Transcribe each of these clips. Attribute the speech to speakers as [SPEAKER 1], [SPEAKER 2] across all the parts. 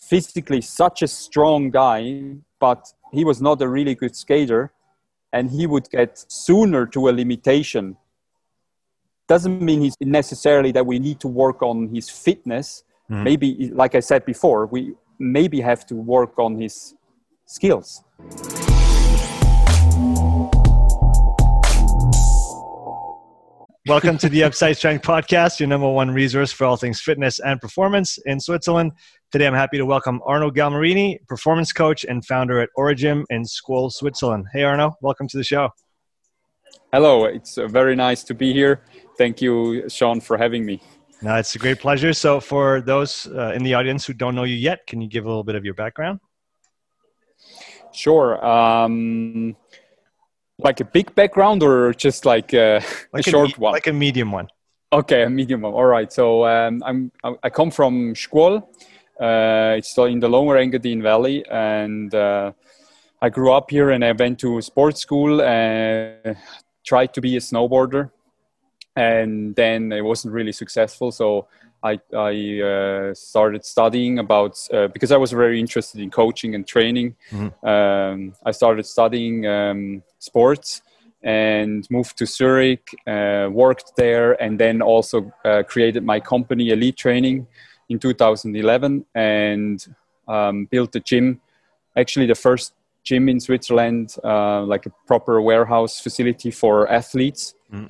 [SPEAKER 1] physically such a strong guy, but he was not a really good skater, and he would get sooner to a limitation. Doesn't mean he's necessarily that we need to work on his fitness. Mm-hmm. Maybe, like I said before, we maybe have to work on his skills.
[SPEAKER 2] Welcome to the Upside Strength Podcast, your number one resource for all things fitness and performance in Switzerland. Today, I'm happy to welcome Arno Galmarini, performance coach and founder at Origym in Schwol, Switzerland. Hey, Arno, welcome to the show.
[SPEAKER 1] Hello, it's very nice to be here. Thank you, Sean, for having me.
[SPEAKER 2] No, it's a great pleasure. So for those in the audience who don't know you yet, can you give a little bit of your background?
[SPEAKER 1] Sure. Like a big background or just like a short one?
[SPEAKER 2] Like a medium one.
[SPEAKER 1] Okay, a medium one. All right. So I come from Schwol. It's still in the Lower Engadine Valley. And I grew up here and I went to sports school and tried to be a snowboarder. And then it wasn't really successful. So I started studying about, because I was very interested in coaching and training. Mm-hmm. I started studying sports and moved to Zurich, worked there, and then also created my company, Elite Training, in 2011 and built a gym, actually the first gym in Switzerland, like a proper warehouse facility for athletes.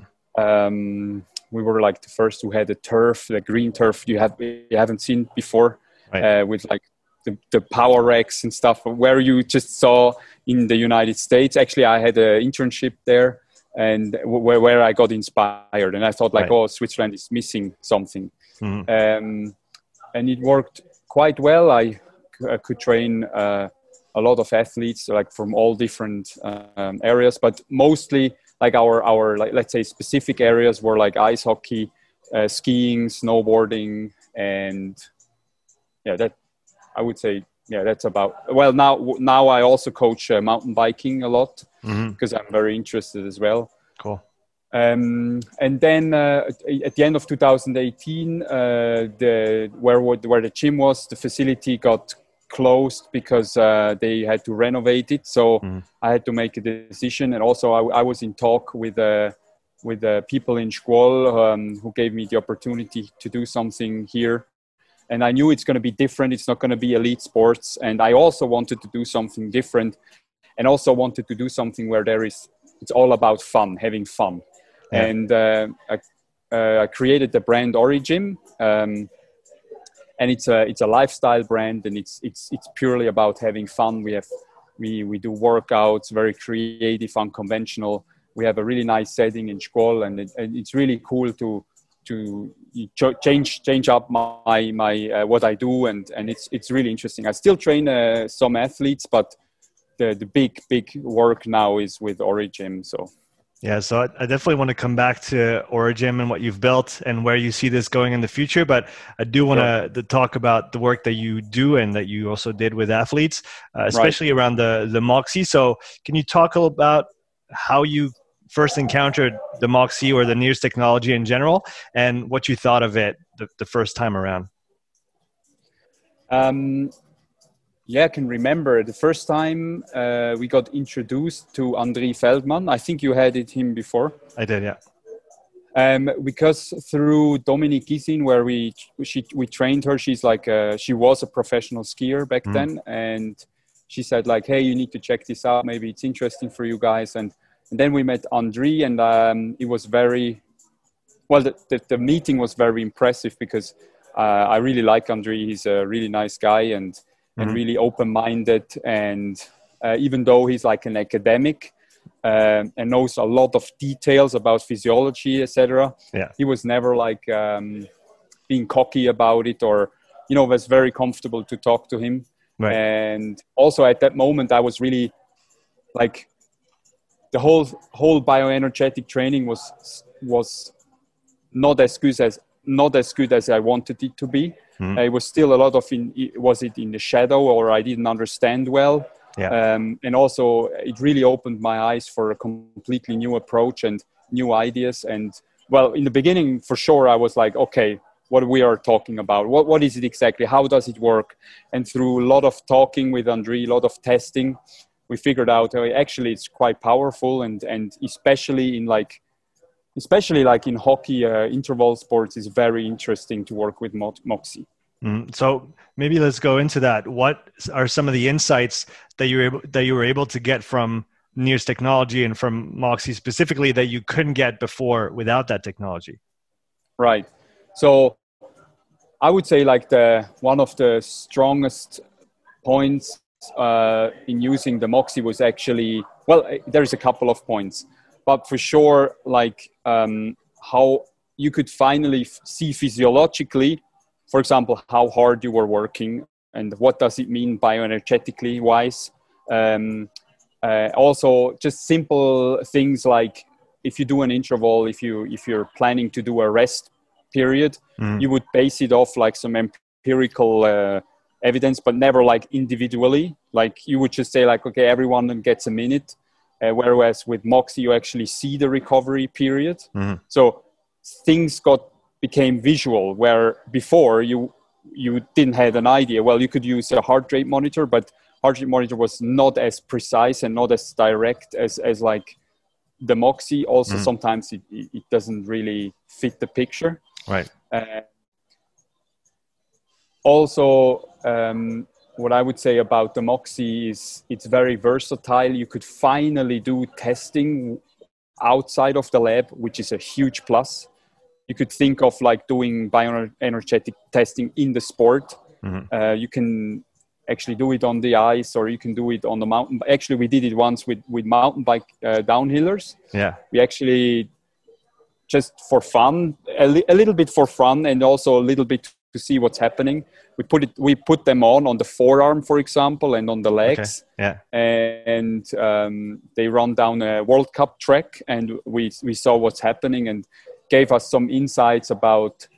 [SPEAKER 1] Mm. We were like the first who had a turf, the green turf you haven't seen before, right. With like the power racks and stuff where you just saw in the United States. Actually, I had an internship there and where I got inspired, and I thought like, right. Oh, Switzerland is missing something. Mm-hmm. And it worked quite well. I could train a lot of athletes like from all different areas, but mostly like our like, let's say specific areas were like ice hockey, skiing, snowboarding, and yeah, that I would say, yeah, that's about. Well, now I also coach mountain biking a lot because I'm very interested as well.
[SPEAKER 2] Cool.
[SPEAKER 1] And then at the end of 2018, where the gym was, the facility got closed because they had to renovate it. So I had to make a decision. And also I was in talk with people in Schwol who gave me the opportunity to do something here. And I knew it's going to be different. It's not going to be elite sports. And I also wanted to do something different and also wanted to do something where it's all about fun, having fun. Yeah. And I created the brand Origym. And it's a lifestyle brand, and it's purely about having fun. We do workouts, very creative, unconventional. We have a really nice setting in Schwol, and it's really cool to change up my what I do, and it's really interesting. I still train some athletes, but the big work now is with Origym. So.
[SPEAKER 2] Yeah, so I definitely want to come back to Origym and what you've built and where you see this going in the future. But I do want to talk about the work that you do and that you also did with athletes, especially around the Moxy. So can you talk a little about how you first encountered the Moxy or the NIRS technology in general and what you thought of it the first time around?
[SPEAKER 1] Yeah, I can remember the first time we got introduced to André Feldman. I think you had him before.
[SPEAKER 2] I did, yeah.
[SPEAKER 1] Because through Dominique Gisin, where we trained her, she was a professional skier back then, and she said like, "Hey, you need to check this out. Maybe it's interesting for you guys." And then we met André, and it was very well. The meeting was very impressive because I really like André. He's a really nice guy and really open-minded, and even though he's like an academic and knows a lot of details about physiology, etc., he was never like being cocky about it, or was very comfortable to talk to him. Right. And also at that moment, I was really like the whole bioenergetic training was not as good as I wanted it to be. It was still a lot of was it in the shadow, or I didn't understand well. Yeah. And also it really opened my eyes for a completely new approach and new ideas. And well, in the beginning, for sure, I was like, okay, what we are talking about. What is it exactly? How does it work? And through a lot of talking with Andre, a lot of testing, we figured out actually it's quite powerful, and especially in hockey, interval sports is very interesting to work with Moxy.
[SPEAKER 2] So maybe let's go into that. What are some of the insights that you were able to get from NIRS technology and from Moxy specifically that you couldn't get before without that technology?
[SPEAKER 1] Right. So I would say one of the strongest points in using the Moxy was actually, there's a couple of points, but for sure, how you could finally see physiologically, for example, how hard you were working and what does it mean bioenergetically wise. Also, just simple things like if you do an interval, if you're planning to do a rest period, you would base it off some empirical evidence, but never individually. You would just say okay, everyone gets a minute. Whereas with Moxy, you actually see the recovery period. So things became visual, where before you didn't have an idea. Well, you could use a heart rate monitor, but heart rate monitor was not as precise and not as direct as the Moxy. Also, sometimes it doesn't really fit the picture.
[SPEAKER 2] Right.
[SPEAKER 1] Also, what I would say about the Moxy is it's very versatile. You could finally do testing outside of the lab, which is a huge plus. You could think of doing bioenergetic testing in the sport. You can actually do it on the ice, or you can do it on the mountain. Actually, we did it once with mountain bike downhillers.
[SPEAKER 2] Yeah.
[SPEAKER 1] We actually, just for fun, a little bit for fun, and also a little bit to see what's happening. We put them on the forearm, for example, and on the legs.
[SPEAKER 2] Okay. Yeah.
[SPEAKER 1] And they run down a World Cup track, and we saw what's happening, and gave us some insights about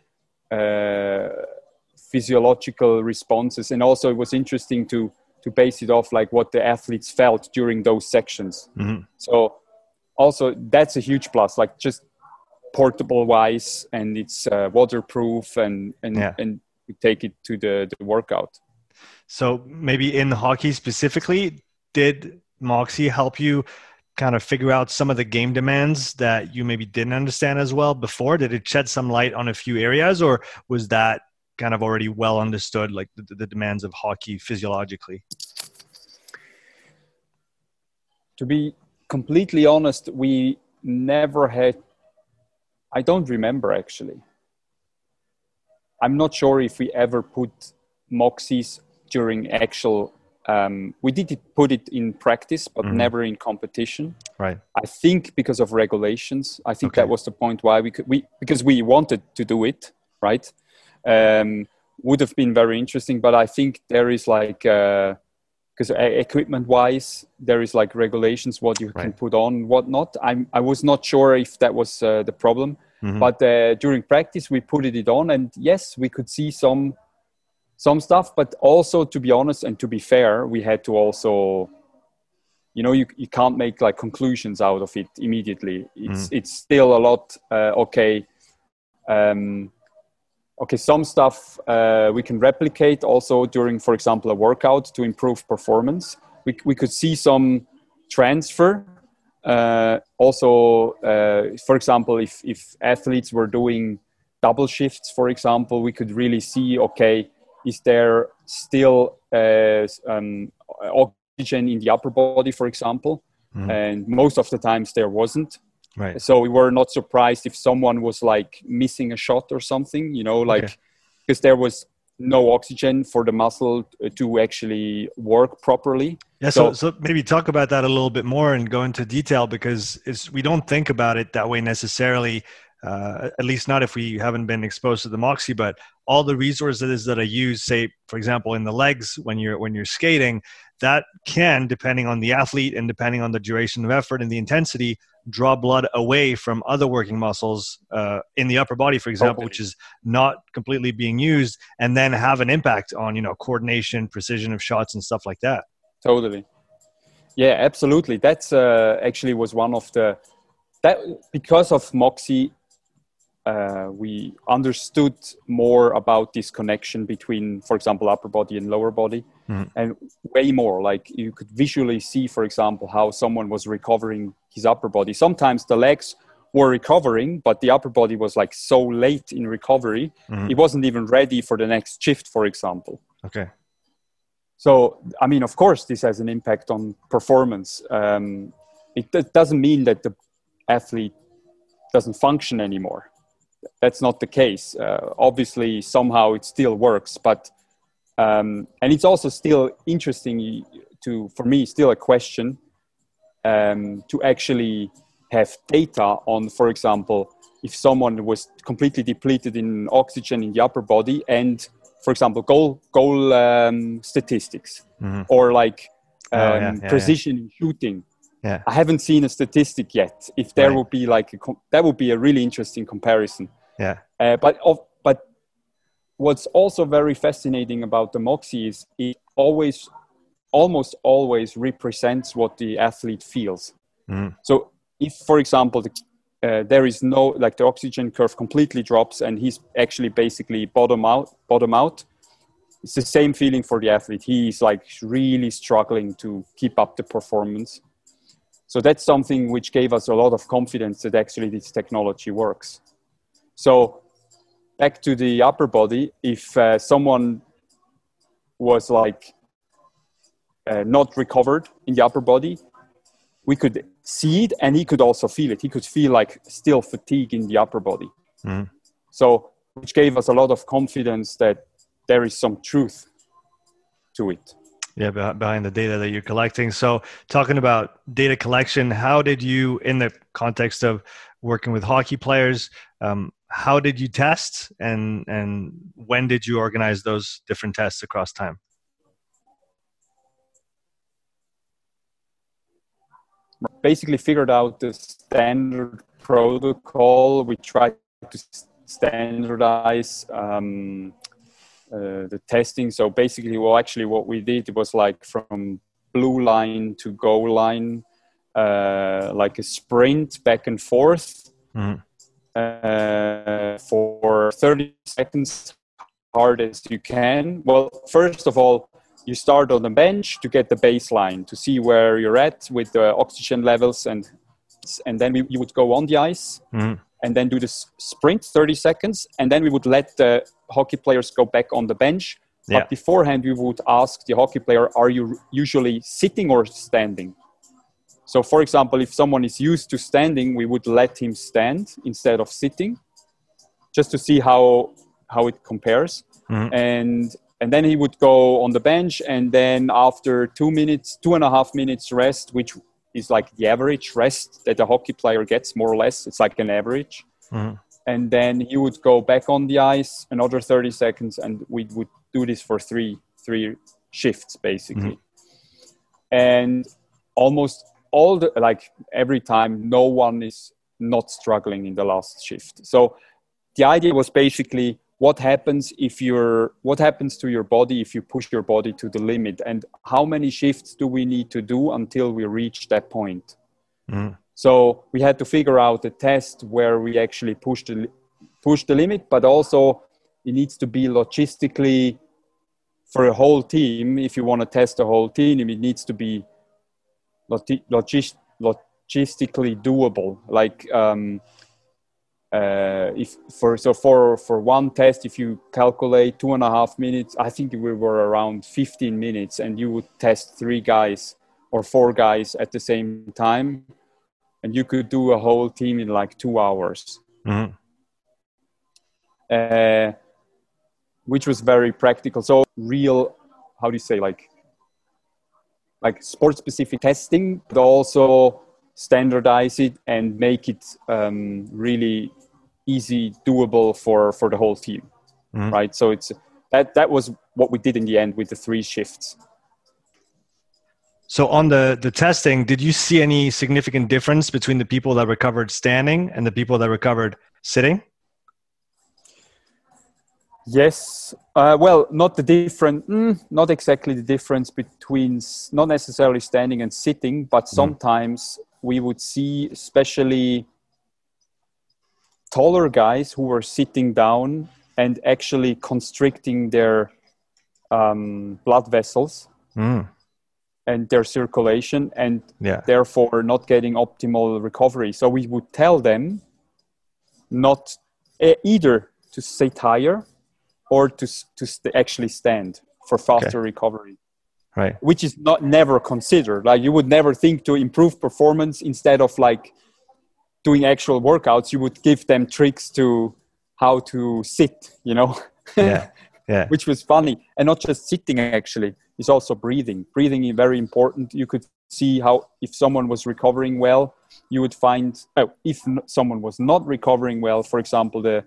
[SPEAKER 1] physiological responses. And also it was interesting to base it off what the athletes felt during those sections. So also that's a huge plus, just portable wise, and it's waterproof, and we take it to the workout.
[SPEAKER 2] So maybe in hockey specifically, did Moxy help you kind of figure out some of the game demands that you maybe didn't understand as well before? Did it shed some light on a few areas, or was that kind of already well understood, the demands of hockey physiologically?
[SPEAKER 1] To be completely honest, we never had, I don't remember actually. I'm not sure if we ever put Moxys during actual, we did put it in practice, but never in competition.
[SPEAKER 2] Right.
[SPEAKER 1] I think because of regulations. I think that was the point why because we wanted to do it, right? Would have been very interesting, but I think there is because equipment-wise, there is regulations what you can put on, what not. I was not sure if that was the problem, but during practice we put it on, and yes, we could see some stuff, but also, to be honest and to be fair, we had to also, you can't make conclusions out of it immediately. It's still a lot. Some stuff we can replicate also during, for example, a workout to improve performance. We could see some transfer. Also, for example, if athletes were doing double shifts, for example, we could really see, is there still oxygen in the upper body, for example? And most of the times there wasn't.
[SPEAKER 2] Right.
[SPEAKER 1] So we were not surprised if someone was missing a shot or something, because there was no oxygen for the muscle to actually work properly.
[SPEAKER 2] Yeah. So maybe talk about that a little bit more and go into detail, because we don't think about it that way necessarily. At least not if we haven't been exposed to the Moxy, but all the resources that I use, say, for example, in the legs, when you're skating, that can, depending on the athlete and depending on the duration of effort and the intensity, draw blood away from other working muscles in the upper body, for example, which is not completely being used, and then have an impact on, coordination, precision of shots and stuff like that.
[SPEAKER 1] Totally. Yeah, absolutely. That's actually was one of because of Moxy, we understood more about this connection between, for example, upper body and lower body, and way more. Like you could visually see, for example, how someone was recovering his upper body. Sometimes the legs were recovering, but the upper body was like so late in recovery, it wasn't even ready for the next shift, for example.
[SPEAKER 2] Okay.
[SPEAKER 1] So, I mean, of course, this has an impact on performance. It doesn't mean that the athlete doesn't function anymore. That's not the case. Obviously, somehow it still works, but and it's also still interesting for me, still a question to actually have data on, for example, if someone was completely depleted in oxygen in the upper body and, for example, goal statistics or like precision in shooting.
[SPEAKER 2] Yeah.
[SPEAKER 1] I haven't seen a statistic yet. If there would be like that would be a really interesting comparison.
[SPEAKER 2] Yeah.
[SPEAKER 1] But what's also very fascinating about the Moxy is it almost always represents what the athlete feels. So if, for example, there is no, like the oxygen curve completely drops and he's actually basically bottom out, it's the same feeling for the athlete. He's like really struggling to keep up the performance. So that's something which gave us a lot of confidence that actually this technology works. So back to the upper body, if someone was like not recovered in the upper body, we could see it and he could also feel it. He could feel like still fatigue in the upper body. So which gave us a lot of confidence that there is some truth to it.
[SPEAKER 2] Yeah, behind the data that you're collecting. So talking about data collection, how did you, in the context of working with hockey players, how did you test and when did you organize those different tests across time?
[SPEAKER 1] Basically figured out the standard protocol. We tried to standardize the testing. So basically, what we did was like from blue line to goal line, like a sprint back and forth for 30 seconds, hard as you can. Well, first of all, you start on the bench to get the baseline, to see where you're at with the oxygen levels, and then you would go on the ice and then do the sprint 30 seconds, and then we would let the hockey players go back on the bench.
[SPEAKER 2] Yeah.
[SPEAKER 1] But beforehand, we would ask the hockey player, are you usually sitting or standing? So, for example, if someone is used to standing, we would let him stand instead of sitting, just to see how it compares. And then he would go on the bench, and then after 2.5 minutes rest, which is like the average rest that a hockey player gets, more or less, it's like an average. And then he would go back on the ice, another 30 seconds, and we would do this for three shifts, basically. And almost every time, no one is not struggling in the last shift. So the idea was basically, what happens to your body if you push your body to the limit, and how many shifts do we need to do until we reach that point? So we had to figure out a test where we actually push the limit, but also it needs to be logistically for a whole team. If you want to test a whole team, it needs to be logistically doable. Like for one test, if you calculate 2.5 minutes, I think we were around 15 minutes, and you would test 3 guys or 4 guys at the same time, and you could do a whole team in like 2 hours. Which was very practical. So real, how do you say, like sport-specific testing, but also standardize it and make it really easy, doable for the whole team, right? So it's that was what we did in the end with the 3 shifts.
[SPEAKER 2] So on the testing, did you see any significant difference between the people that recovered standing and the people that recovered sitting?
[SPEAKER 1] Yes. Well, not exactly the difference between not necessarily standing and sitting, but sometimes we would see, especially taller guys who were sitting down and actually constricting their blood vessels and their circulation, and therefore not getting optimal recovery. So we would tell them not either to sit higher or to actually stand for faster recovery.
[SPEAKER 2] Right.
[SPEAKER 1] Which is never considered. Like, you would never think to improve performance, instead of like doing actual workouts, you would give them tricks to how to sit, you know? Which was funny. And not just sitting, actually, it's also breathing. Breathing is very important. You could see how, if someone was recovering well, you would find, if someone was not recovering well, for example, the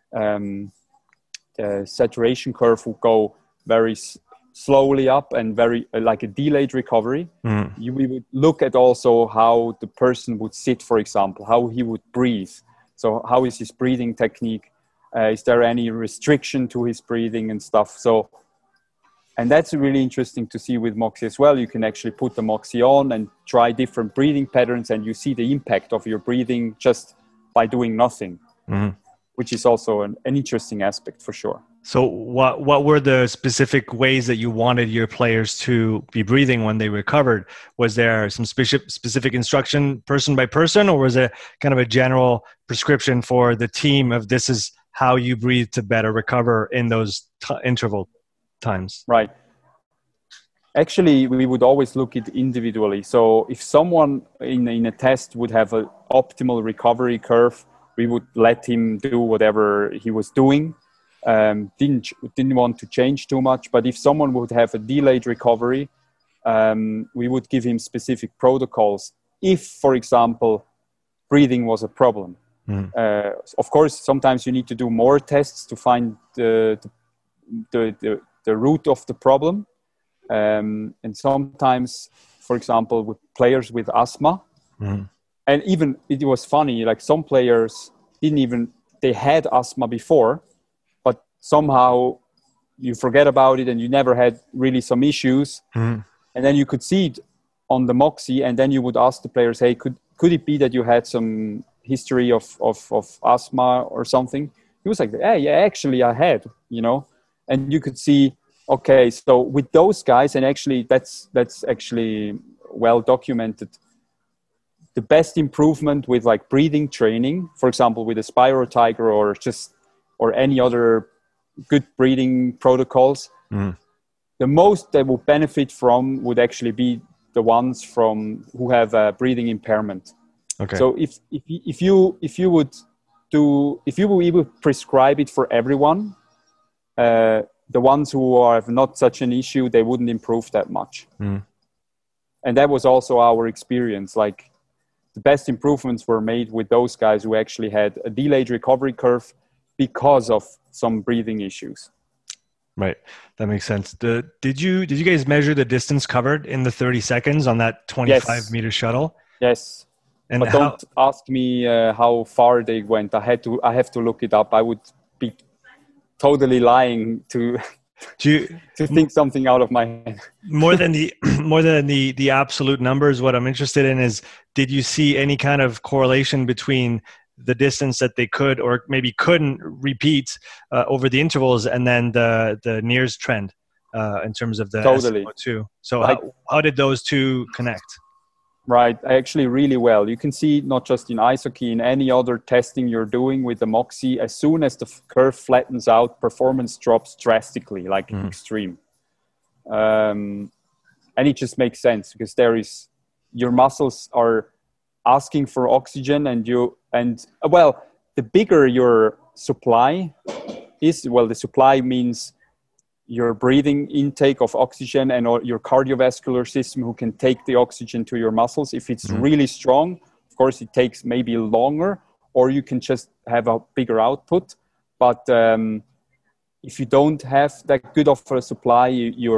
[SPEAKER 1] saturation curve would go very slowly up and very like a delayed recovery. We would look at also how the person would sit, for example, how he would breathe. So how is his breathing technique? Is there any restriction to his breathing and stuff? So, and that's really interesting to see with Moxy as well. You can actually put the Moxy on and try different breathing patterns, and you see the impact of your breathing just by doing nothing, which is also an interesting aspect for sure.
[SPEAKER 2] So what were the specific ways that you wanted your players to be breathing when they recovered? Was there some specific instruction person by person, or was it kind of a general prescription for the team of this is how you breathe to better recover in those interval times?
[SPEAKER 1] Right. Actually, we would always look at individually. So if someone in a test would have an optimal recovery curve, we would let him do whatever he was doing. Didn't want to change too much. But if someone would have a delayed recovery, we would give him specific protocols. If, for example, breathing was a problem. Of course, sometimes you need to do more tests to find the root of the problem. And sometimes, for example, with players with asthma, and even it was funny, like some players they had asthma before, but somehow you forget about it and you never had really some issues. And then you could see it on the Moxy, and then you would ask the players, hey, could it be that you had some history of asthma or something? He was like, hey, yeah, actually I had, you know. And you could see, okay, so with those guys, and actually that's actually well documented, the best improvement with like breathing training, for example, with a Spiro Tiger or any other good breathing protocols, the most they will benefit from would actually be the ones who have a breathing impairment. Okay. So if you would prescribe it for everyone, the ones who have not such an issue, they wouldn't improve that much. And that was also our experience. Like, the best improvements were made with those guys who actually had a delayed recovery curve because of some breathing issues.
[SPEAKER 2] Right. That makes sense. Did you guys measure the distance covered in the 30 seconds on that 25-meter shuttle?
[SPEAKER 1] Yes. And but don't ask me how far they went. I have to look it up. I would be totally lying to think something out of my head.
[SPEAKER 2] more than the absolute numbers, what I'm interested in is, did you see any kind of correlation between the distance that they could or maybe couldn't repeat over the intervals, and then the NIRS trend in terms of the SpO2? So how did those two connect?
[SPEAKER 1] Right, actually really well. You can see not just in ice hockey, in any other testing you're doing with the Moxy, as soon as the curve flattens out, performance drops drastically, like extreme. And it just makes sense, because your muscles are asking for oxygen, the bigger your supply is, the supply means your breathing intake of oxygen and your cardiovascular system who can take the oxygen to your muscles. If it's really strong, of course, it takes maybe longer, or you can just have a bigger output. But if you don't have that good of a supply,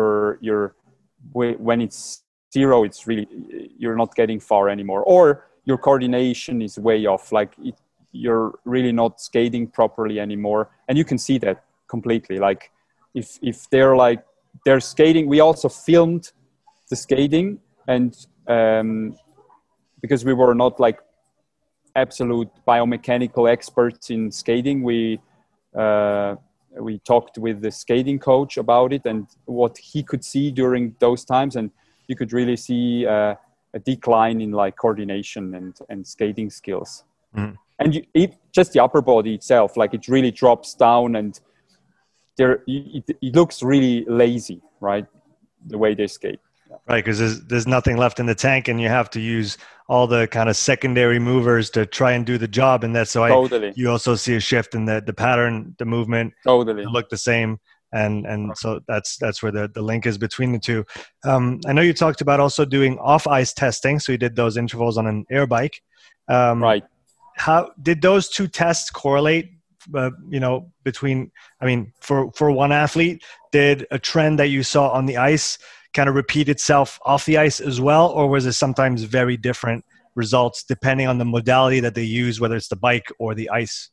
[SPEAKER 1] when it's zero, it's really, you're not getting far anymore. Or your coordination is way off. Like you're really not skating properly anymore. And you can see that completely. Like, if they're skating, we also filmed the skating, and because we were not like absolute biomechanical experts in skating. We talked with the skating coach about it and what he could see during those times, and you could really see a decline in like coordination and skating skills. And just the upper body itself, like it really drops down, and it looks really lazy, right? The way they skate.
[SPEAKER 2] Right, because there's nothing left in the tank, and you have to use all the kind of secondary movers to try and do the job, and that's why you also see a shift in the pattern, the movement, look the same, and so that's where the link is between the two. I know you talked about also doing off-ice testing, so you did those intervals on an air bike.
[SPEAKER 1] Right.
[SPEAKER 2] How did those two tests correlate? Between, I mean, for one athlete, did a trend that you saw on the ice kind of repeat itself off the ice as well, or was it sometimes very different results depending on the modality that they use, whether it's the bike or the ice?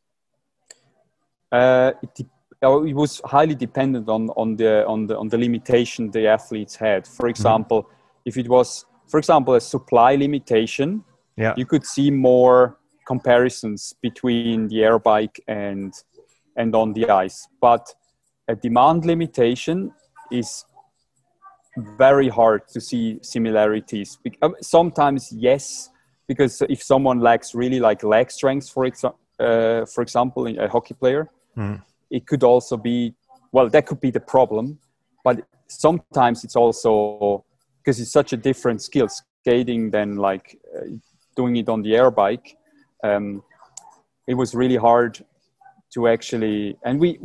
[SPEAKER 1] It was highly dependent on the limitation the athletes had. For example, if it was, for example, a supply limitation, you could see more comparisons between the air bike and on the ice. But a demand limitation is very hard to see similarities. Sometimes yes, because if someone lacks really like leg strength, for example, a hockey player, it could also be, well, that could be the problem. But sometimes it's also because it's such a different skill, skating than like doing it on the air bike. It was really hard to actually, and we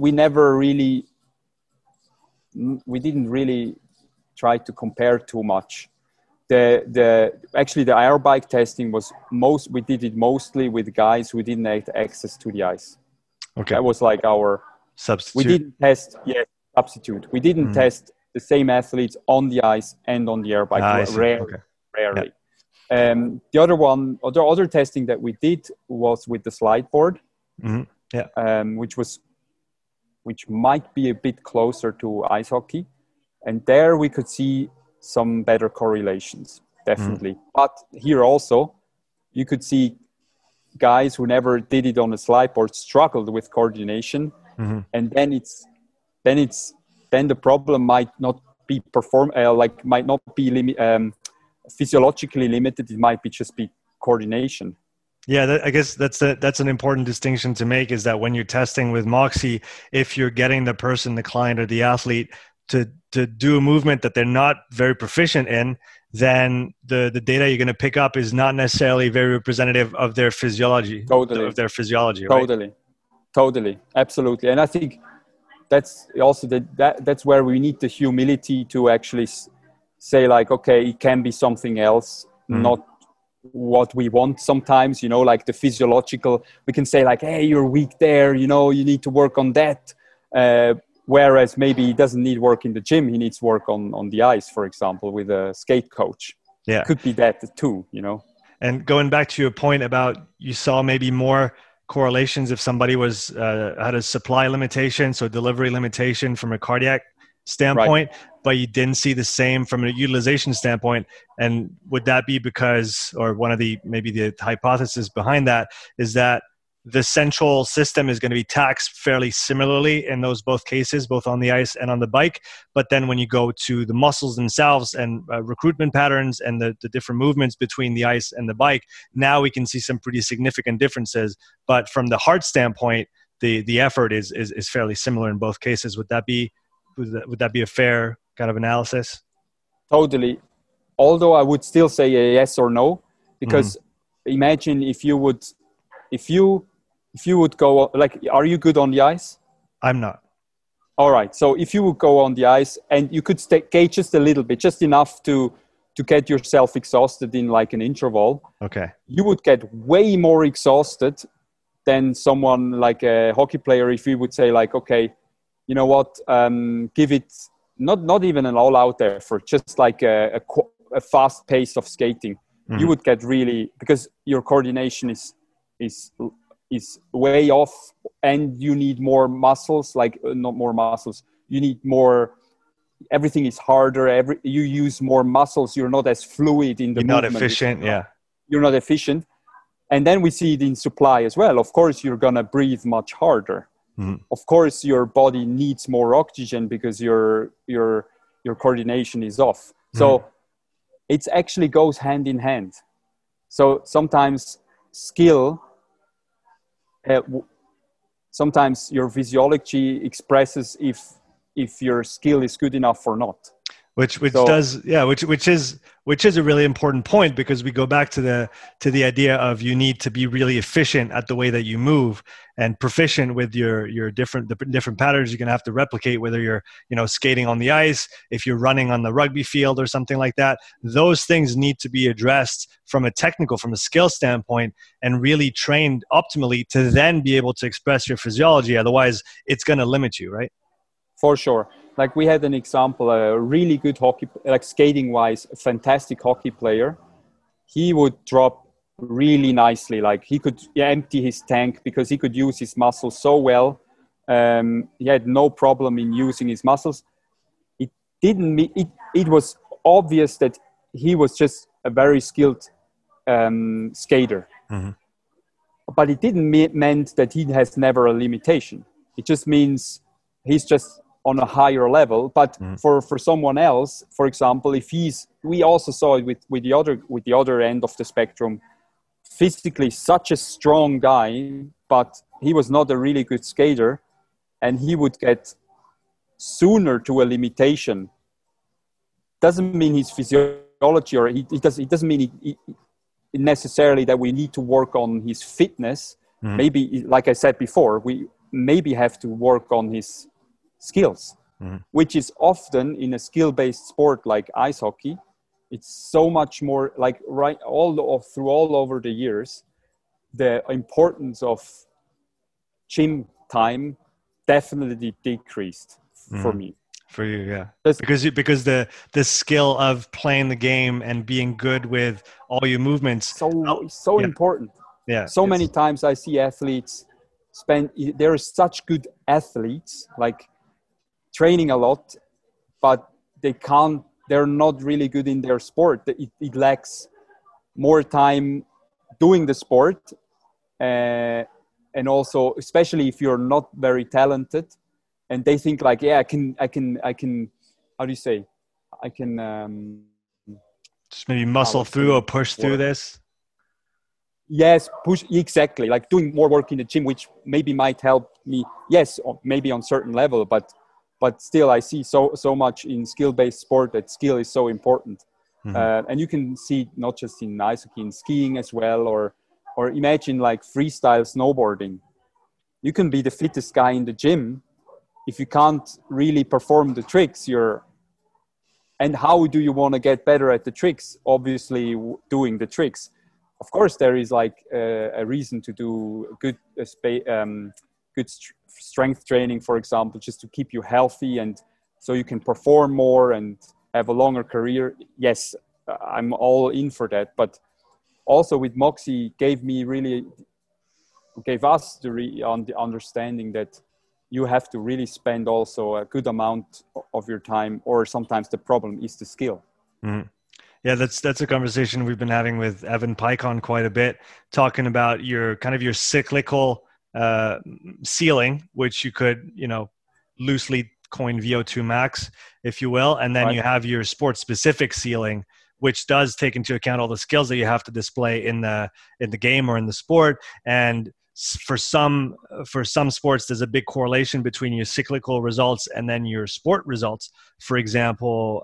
[SPEAKER 1] didn't really try to compare too much. Actually the air bike testing was we did it mostly with guys who didn't have access to the ice. Okay. That was like our
[SPEAKER 2] substitute.
[SPEAKER 1] We didn't test, substitute. We didn't test the same athletes on the ice and on the air bike. Rarely. The other testing that we did was with the slide board, which might be a bit closer to ice hockey, and there we could see some better correlations, definitely. But here also, you could see guys who never did it on a slide board struggled with coordination, and then the problem might not be physiologically limited. It might just be coordination.
[SPEAKER 2] Yeah, I guess that's an important distinction to make, is that when you're testing with Moxy, if you're getting the person, the client or the athlete to do a movement that they're not very proficient in, then the data you're going to pick up is not necessarily very representative of their physiology. Of their physiology, right?
[SPEAKER 1] Totally. Absolutely. And I think that's also that's where we need the humility to actually say like, okay, it can be something else, not what we want sometimes, like the physiological. We can say like, hey, you're weak there, you need to work on that. Whereas maybe he doesn't need work in the gym. He needs work on the ice, for example, with a skate coach. Yeah. Could be that too,
[SPEAKER 2] And going back to your point about you saw maybe more correlations if somebody was had a supply limitation, so delivery limitation from a cardiac standpoint, but you didn't see the same from a utilization standpoint. And would that be because, or one of the hypothesis behind that is that the central system is going to be taxed fairly similarly in those both cases, both on the ice and on the bike. But then when you go to the muscles themselves and recruitment patterns and the different movements between the ice and the bike, now we can see some pretty significant differences. But from the heart standpoint, the effort is fairly similar in both cases. Would that be a fair kind of analysis?
[SPEAKER 1] Totally. Although I would still say a yes or no, because imagine if you would go, like, are you good on the ice?
[SPEAKER 2] I'm not.
[SPEAKER 1] All right. So if you would go on the ice and you could skate just a little bit, just enough to get yourself exhausted in like an interval,
[SPEAKER 2] okay,
[SPEAKER 1] you would get way more exhausted than someone like a hockey player. If you would say like, okay, you know what, give it not even an all-out effort, just like a fast pace of skating. You would get really, because your coordination is way off, and you need more muscles, like not more muscles. You need more. Everything is harder. You use more muscles. You're not as fluid in the movement.
[SPEAKER 2] You're not efficient. Yeah.
[SPEAKER 1] You're not efficient. And then we see it in supply as well. Of course, you're going to breathe much harder. Of course, your body needs more oxygen because your coordination is off. So it actually goes hand in hand. So sometimes skill, sometimes your physiology expresses if your skill is good enough or not.
[SPEAKER 2] Which is a really important point, because we go back to the idea of you need to be really efficient at the way that you move and proficient with your different patterns you're going to have to replicate, whether you're skating on the ice, if you're running on the rugby field or something like that. Those things need to be addressed from a skill standpoint, and really trained optimally to then be able to express your physiology. Otherwise, it's going to limit you, right?
[SPEAKER 1] For sure. Like we had an example, a really good hockey, like skating wise, a fantastic hockey player. He would drop really nicely. Like he could empty his tank because he could use his muscles so well. He had no problem in using his muscles. It was obvious that he was just a very skilled skater. But it didn't meant that he has never a limitation. It just means he's just on a higher level. But for someone else, for example, we also saw it with the other end of the spectrum, physically such a strong guy, but he was not a really good skater, and he would get sooner to a limitation. Doesn't mean his physiology, or it doesn't mean necessarily that we need to work on his fitness. Maybe, like I said before, we maybe have to work on his skills, which is often in a skill-based sport like ice hockey. It's so much more like all over the years, the importance of gym time definitely decreased for me.
[SPEAKER 2] For you, yeah. Because the skill of playing the game and being good with all your movements
[SPEAKER 1] so important.
[SPEAKER 2] Yeah.
[SPEAKER 1] So many times I see athletes there are such good athletes, like training a lot, but they're not really good in their sport. It lacks more time doing the sport, and also, especially if you're not very talented, and they think like, I can, how do you say? I can
[SPEAKER 2] just maybe muscle through or push through this.
[SPEAKER 1] Yes, push, exactly. Like doing more work in the gym, which maybe might help me. Yes, maybe on certain level, but still, I see so much in skill-based sport that skill is so important. And you can see not just in ice hockey, in skiing as well, or imagine like freestyle snowboarding. You can be the fittest guy in the gym. If you can't really perform the tricks, and how do you want to get better at the tricks? Obviously, doing the tricks. Of course, there is like a reason to do good strength training, for example, just to keep you healthy and so you can perform more and have a longer career. Yes, I'm all in for that. But also with Moxy gave us the understanding that you have to really spend also a good amount of your time, or sometimes the problem is the skill.
[SPEAKER 2] Yeah, that's a conversation we've been having with Evan Pycon quite a bit, talking about your cyclical ceiling, which you could, loosely coin VO2 max, if you will. And then you have your sport specific ceiling, which does take into account all the skills that you have to display in the game or in the sport. And for some sports, there's a big correlation between your cyclical results and then your sport results. For example,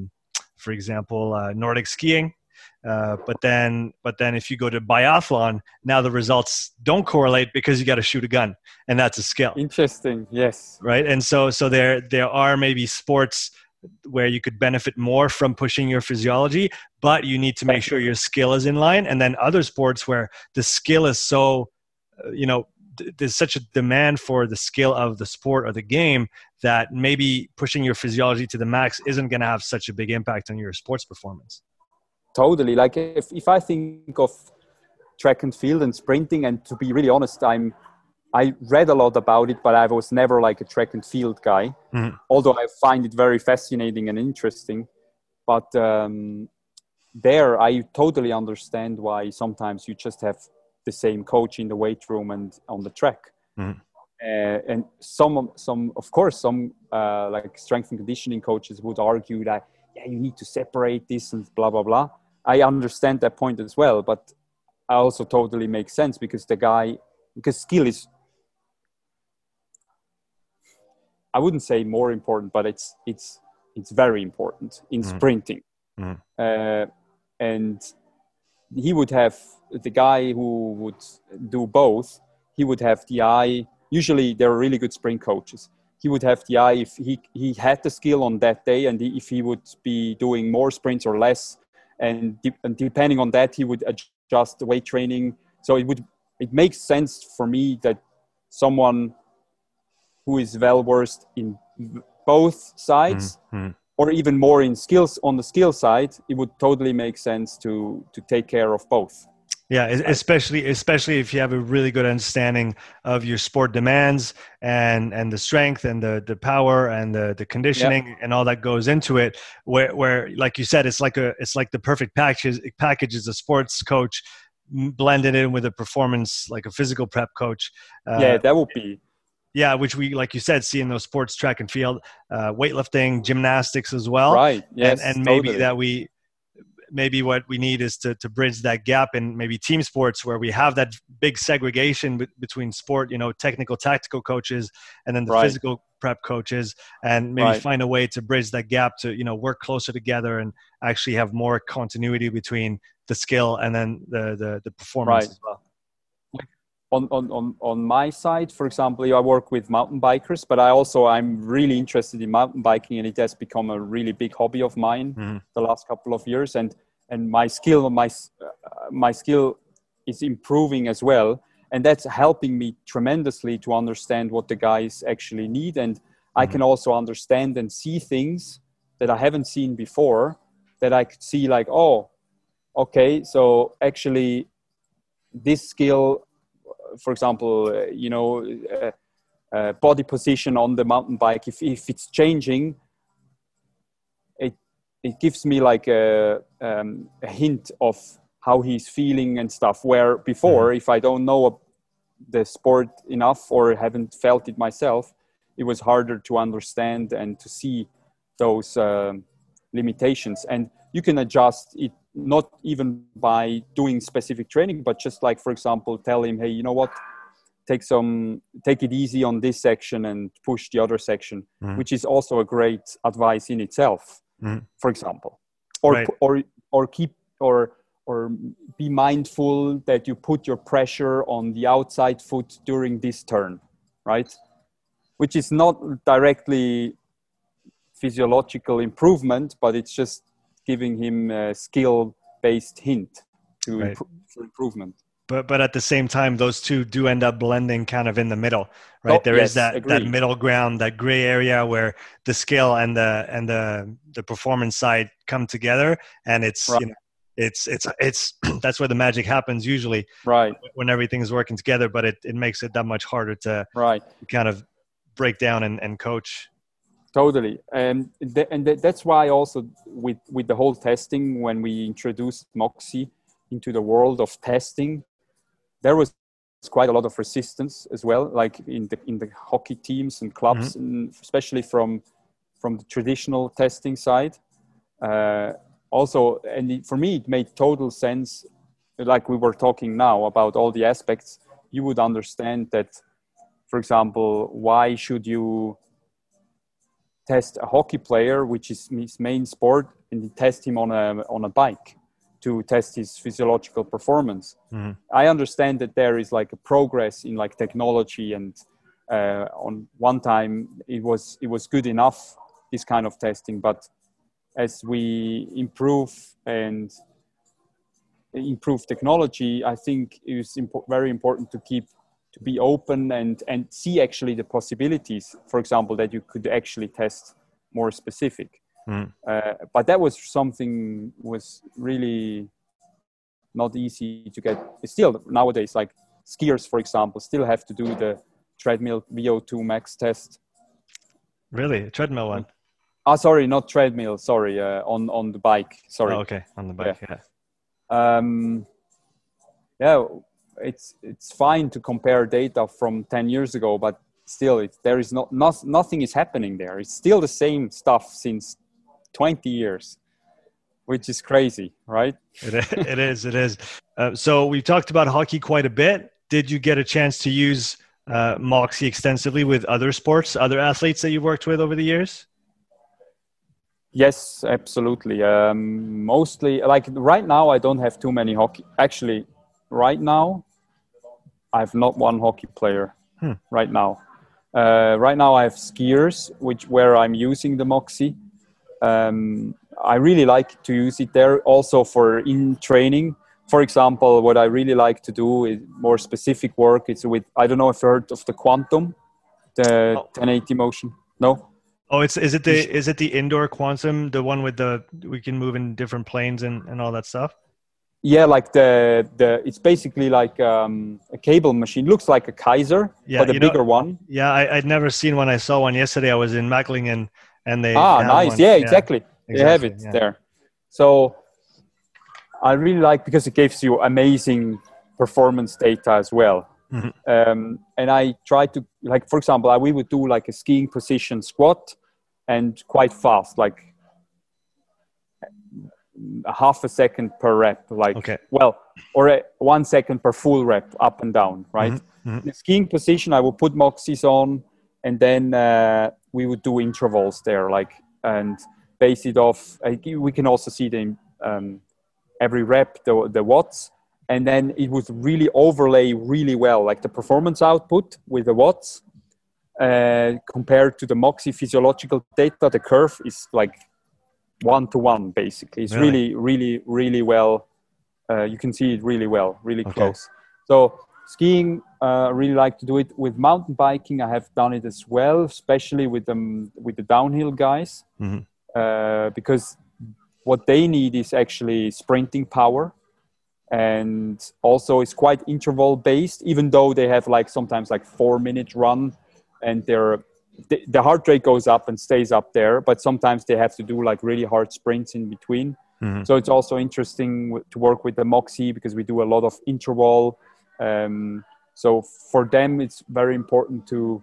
[SPEAKER 2] Nordic skiing. But then if you go to biathlon, now the results don't correlate because you got to shoot a gun, and that's a skill.
[SPEAKER 1] Interesting. Yes.
[SPEAKER 2] Right. And so there are maybe sports where you could benefit more from pushing your physiology, but you need to make sure your skill is in line. And then other sports where the skill is so, there's such a demand for the skill of the sport or the game that maybe pushing your physiology to the max isn't going to have such a big impact on your sports performance.
[SPEAKER 1] Totally. Like if I think of track and field and sprinting, and to be really honest, I read a lot about it, but I was never like a track and field guy, although I find it very fascinating and interesting. But there, I totally understand why sometimes you just have the same coach in the weight room and on the track.
[SPEAKER 2] Mm.
[SPEAKER 1] And some of course, some like strength and conditioning coaches would argue that, yeah, you need to separate this and blah, blah, blah. I understand that point as well, but I also totally make sense because skill is, I wouldn't say more important, but it's very important in sprinting. And he would have, the guy who would do both, he would have the eye. Usually there are really good sprint coaches. He would have the eye if he had the skill on that day, and if he would be doing more sprints or less. And depending on that, he would adjust the weight training. So it makes sense for me that someone who is well versed in both sides, or even more in skills on the skill side, it would totally make sense to take care of both.
[SPEAKER 2] Yeah, especially if you have a really good understanding of your sport demands and the strength and the power and the conditioning and all that goes into it. Where like you said, it's like the perfect package as a sports coach blended in with a performance, like a physical prep coach.
[SPEAKER 1] That would be.
[SPEAKER 2] Yeah, which we, like you said, see in those sports, track and field, weightlifting, gymnastics as well.
[SPEAKER 1] Right. Yes.
[SPEAKER 2] And maybe maybe what we need is to bridge that gap in maybe team sports where we have that big segregation between sport, technical, tactical coaches, and then the physical prep coaches, and maybe find a way to bridge that gap to, work closer together and actually have more continuity between the skill and then the performance as well.
[SPEAKER 1] On my side, for example, I work with mountain bikers, but I'm really interested in mountain biking, and it has become a really big hobby of mine the last couple of years. And my skill is improving as well, and that's helping me tremendously to understand what the guys actually need. And I can also understand and see things that I haven't seen before, that I could see like, oh, okay, so actually this skill, for example, body position on the mountain bike, if it's changing, it gives me like a hint of how he's feeling and stuff, where before, if I don't know the sport enough or haven't felt it myself, it was harder to understand and to see those limitations. And you can adjust it not even by doing specific training, but just like, for example, tell him, hey, you know what, take it easy on this section and push the other section, which is also a great advice in itself, for example. Or be mindful that you put your pressure on the outside foot during this turn, right? Which is not directly physiological improvement, but it's just giving him a skill-based hint for improvement.
[SPEAKER 2] But at the same time, those two do end up blending kind of in the middle, right? There is that middle ground, that gray area where the skill and the performance side come together, and it's it's that's where the magic happens usually,
[SPEAKER 1] right?
[SPEAKER 2] When everything's working together. But it makes it that much harder to kind of break down and coach.
[SPEAKER 1] Totally. And that's why also with the whole testing, when we introduced Moxy into the world of testing, there was quite a lot of resistance as well, like in the hockey teams and clubs, and especially from the traditional testing side. Also, and for me, it made total sense, like we were talking now about all the aspects. You would understand that, for example, why should you test a hockey player, which is his main sport, and test him on a bike to test his physiological performance. I understand that there is like a progress in like technology, and on one time it was good enough, this kind of testing, but as we improve technology, I think it is very important to be open and see actually the possibilities, for example, that you could actually test more specific. But that was something was really not easy to get. Still nowadays, like skiers, for example, still have to do the treadmill VO2 max test.
[SPEAKER 2] Really? A treadmill one?
[SPEAKER 1] Sorry, not treadmill. Sorry, on the bike. Sorry.
[SPEAKER 2] Oh, okay, on the bike.
[SPEAKER 1] it's fine to compare data from 10 years ago, but still, there is nothing is happening there. It's still the same stuff since 20 years, which is crazy, right?
[SPEAKER 2] It is. So we've talked about hockey quite a bit. Did you get a chance to use Moxy extensively with other sports, other athletes that you've worked with over the years?
[SPEAKER 1] Yes, absolutely. Mostly, like right now, I don't have too many hockey. Actually, right now, I have not one hockey player. Right now. Right now, I have skiers, where I'm using the Moxy. I really like to use it there also for in training. For example, what I really like to do is more specific work. It's with, I don't know if you heard of the Quantum, the 1080 motion. No?
[SPEAKER 2] Oh, is it the indoor Quantum, the one with we can move in different planes and all that stuff?
[SPEAKER 1] Yeah, like it's basically like a cable machine. Looks like a Kaiser, but a bigger one.
[SPEAKER 2] Yeah, I'd never seen one. I saw one yesterday. I was in Macklingen, and they
[SPEAKER 1] nice.
[SPEAKER 2] One.
[SPEAKER 1] Yeah, exactly. They have it there. So I really like, because it gives you amazing performance data as well. Mm-hmm. And I try to, like, for example, we would do like a skiing position squat, and quite fast, like a half a second per rep, or 1 second per full rep, up and down, right? Mm-hmm. Mm-hmm. The skiing position, I would put Moxys on, and then we would do intervals there, and base it off. We can also see the every rep, the watts, and then it would really overlay really well, like the performance output with the watts compared to the Moxy physiological data. The curve is like 1-to-1 basically. It's really well. You can see it really well, really close. So skiing, really like to do it. With mountain biking, I have done it as well, especially with the downhill guys, because what they need is actually sprinting power, and also it's quite interval based. Even though they have sometimes 4-minute run, and the heart rate goes up and stays up there, but sometimes they have to do really hard sprints in between. Mm-hmm. So it's also interesting to work with the Moxy, because we do a lot of interval. So for them, it's very important to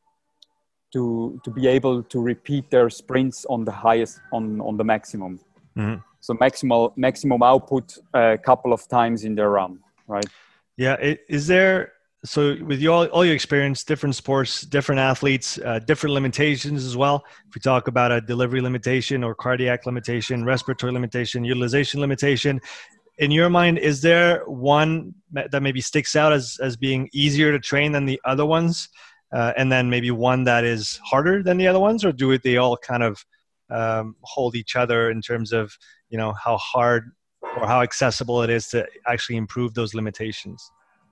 [SPEAKER 1] be able to repeat their sprints on the highest, on the maximum. Mm-hmm. So maximum output a couple of times in their run, right?
[SPEAKER 2] Yeah. Is there, so with all your experience, different sports, different athletes, different limitations as well. If we talk about a delivery limitation or cardiac limitation, respiratory limitation, utilization limitation, in your mind, is there one that maybe sticks out as being easier to train than the other ones? And then maybe one that is harder than the other ones, or do they all kind of hold each other in terms of, how hard or how accessible it is to actually improve those limitations?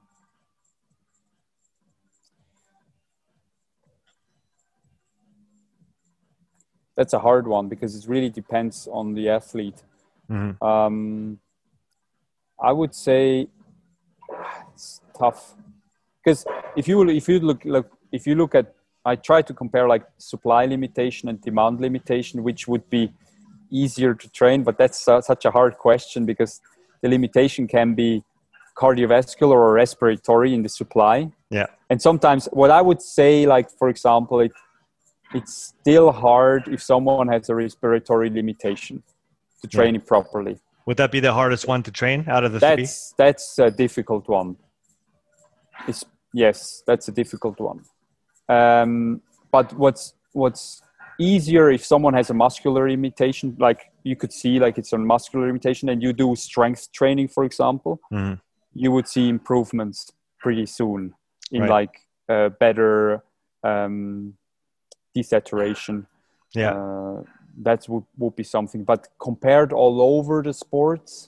[SPEAKER 1] That's a hard one, because it really depends on the athlete. Mm-hmm. I would say it's tough, because if you look at, I try to compare supply limitation and demand limitation, which would be easier to train, but that's such a hard question, because the limitation can be cardiovascular or respiratory in the supply.
[SPEAKER 2] Yeah.
[SPEAKER 1] And sometimes what I would say, for example, it's still hard if someone has a respiratory limitation to train it properly.
[SPEAKER 2] Would that be the hardest one to train out of the three?
[SPEAKER 1] That's a difficult one. Yes, that's a difficult one. But what's easier, if someone has a muscular limitation, you could see it's a muscular limitation, and you do strength training, for example, mm-hmm. you would see improvements pretty soon in better desaturation.
[SPEAKER 2] Yeah.
[SPEAKER 1] That would be something. But compared all over the sports,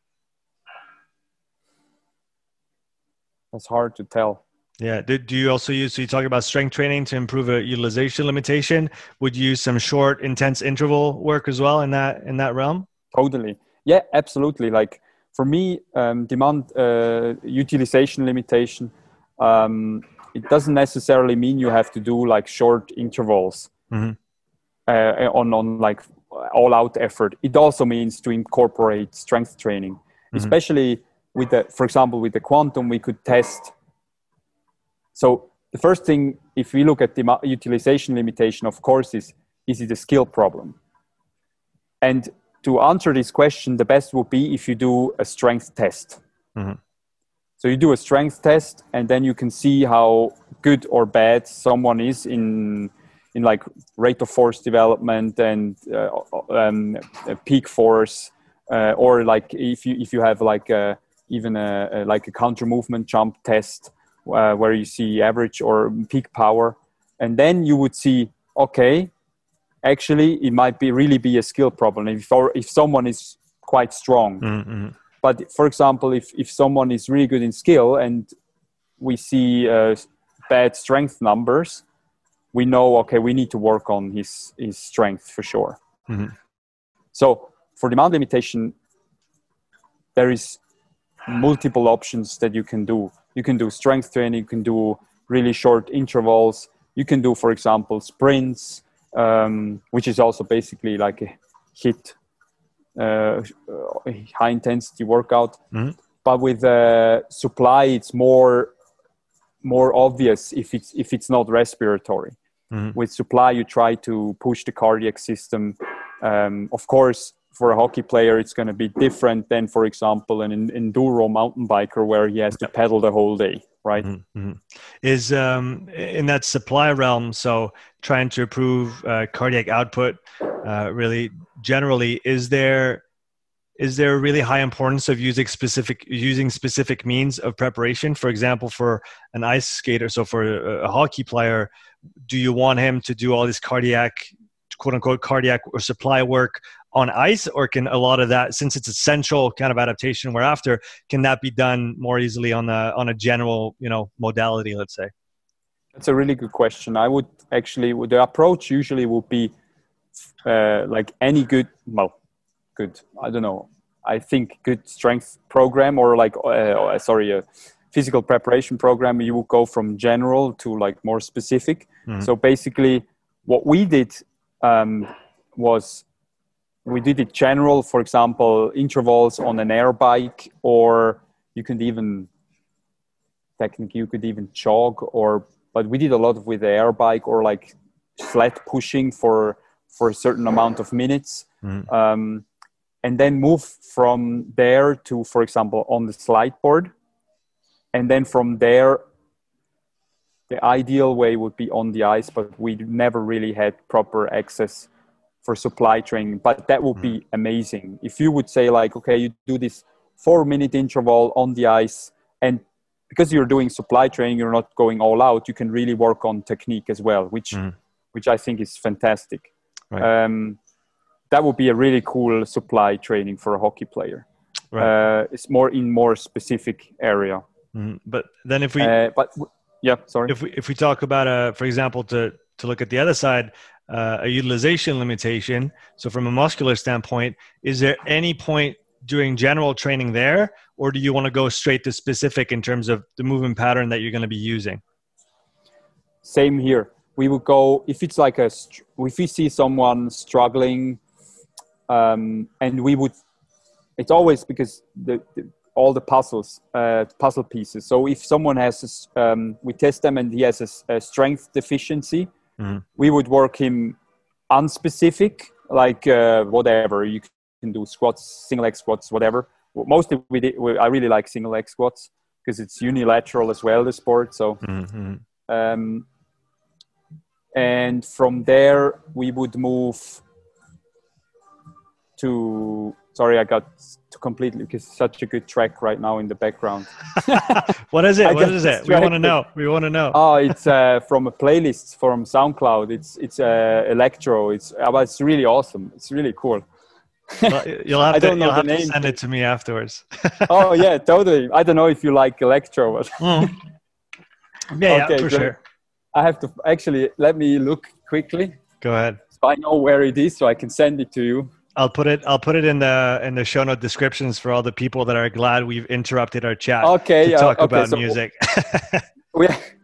[SPEAKER 1] that's hard to tell.
[SPEAKER 2] Yeah. Do you also use, so you talk about strength training to improve a utilization limitation? Would you use some short, intense interval work as well in that realm?
[SPEAKER 1] Totally. Yeah, absolutely. For me, demand utilization limitation, it doesn't necessarily mean you have to do short intervals. Mm-hmm. On all out effort. It also means to incorporate strength training, mm-hmm. especially with the, for example, with the quantum, we could test. So the first thing, if we look at the utilization limitation, of course, is it a skill problem? And to answer this question, the best would be if you do a strength test. Mm-hmm. So you do a strength test, and then you can see how good or bad someone is in like rate of force development and peak force, or like if you have like even like a counter movement jump test where you see average or peak power, and then you would see, okay, actually it might really be a skill problem if someone is quite strong. Mm-hmm. But for example, if someone is really good in skill and we see bad strength numbers, we know, okay, we need to work on his strength for sure. Mm-hmm. So for demand limitation, there is multiple options that you can do. You can do strength training, you can do really short intervals, you can do, for example, sprints, which is also basically like a HIIT, high intensity workout. Mm-hmm. But with supply, it's more obvious if it's not respiratory. Mm-hmm. With supply, you try to push the cardiac system. Of course, for a hockey player, it's going to be different than, for example, an enduro mountain biker where he has to pedal the whole day, right?
[SPEAKER 2] Mm-hmm. Is in that supply realm, so trying to improve cardiac output, really generally, is there a really high importance of using specific means of preparation? For example, for an ice skater, so for a hockey player, do you want him to do all this cardiac, quote unquote, cardiac or supply work on ice, or can a lot of that, since it's essential kind of adaptation we're after, can that be done more easily on a general, modality, let's say?
[SPEAKER 1] That's a really good question. I would actually, the approach usually would be like any good, I don't know. I think good strength program or like, a physical preparation program, you would go from general to like more specific. Mm-hmm. So basically what we did was we did it general, for example, intervals on an air bike, or you could even jog, but we did a lot with the air bike or like sled pushing for a certain amount of minutes. Mm-hmm. And then move from there to, for example, on the slide board. And then from there, the ideal way would be on the ice, but we never really had proper access for supply training. But that would be amazing. If you would say like, okay, you do this 4-minute interval on the ice, and because you're doing supply training, you're not going all out, you can really work on technique as well, which I think is fantastic. Right. That would be a really cool supply training for a hockey player. Right. It's more specific area.
[SPEAKER 2] Mm-hmm. But then if we, if we talk about for example, to look at the other side, a utilization limitation. So from a muscular standpoint, is there any point doing general training there, or do you want to go straight to specific in terms of the movement pattern that you're going to be using?
[SPEAKER 1] Same here. We would go if it's like if we see someone struggling. And we would, it's always because all the puzzle pieces. So if someone has, we test them and he has a strength deficiency, we would work him unspecific, like whatever. You can do squats, single leg squats, whatever. Mostly I really like single leg squats because it's unilateral as well, the sport. So, and from there we would move to, sorry, I got to completely, because it's such a good track right now in the background.
[SPEAKER 2] What is it? What is it? We want to know.
[SPEAKER 1] Oh, it's from a playlist from SoundCloud. It's electro. It's really awesome. It's really cool.
[SPEAKER 2] Well, you'll have to send it to me afterwards.
[SPEAKER 1] Oh yeah, totally. I don't know if you like electro. But
[SPEAKER 2] yeah, okay, for sure.
[SPEAKER 1] I have to actually, let me look quickly.
[SPEAKER 2] Go ahead.
[SPEAKER 1] So I know where it is, so I can send it to you.
[SPEAKER 2] I'll put it in the show note descriptions for all the people that are glad we've interrupted our chat to talk about music.
[SPEAKER 1] We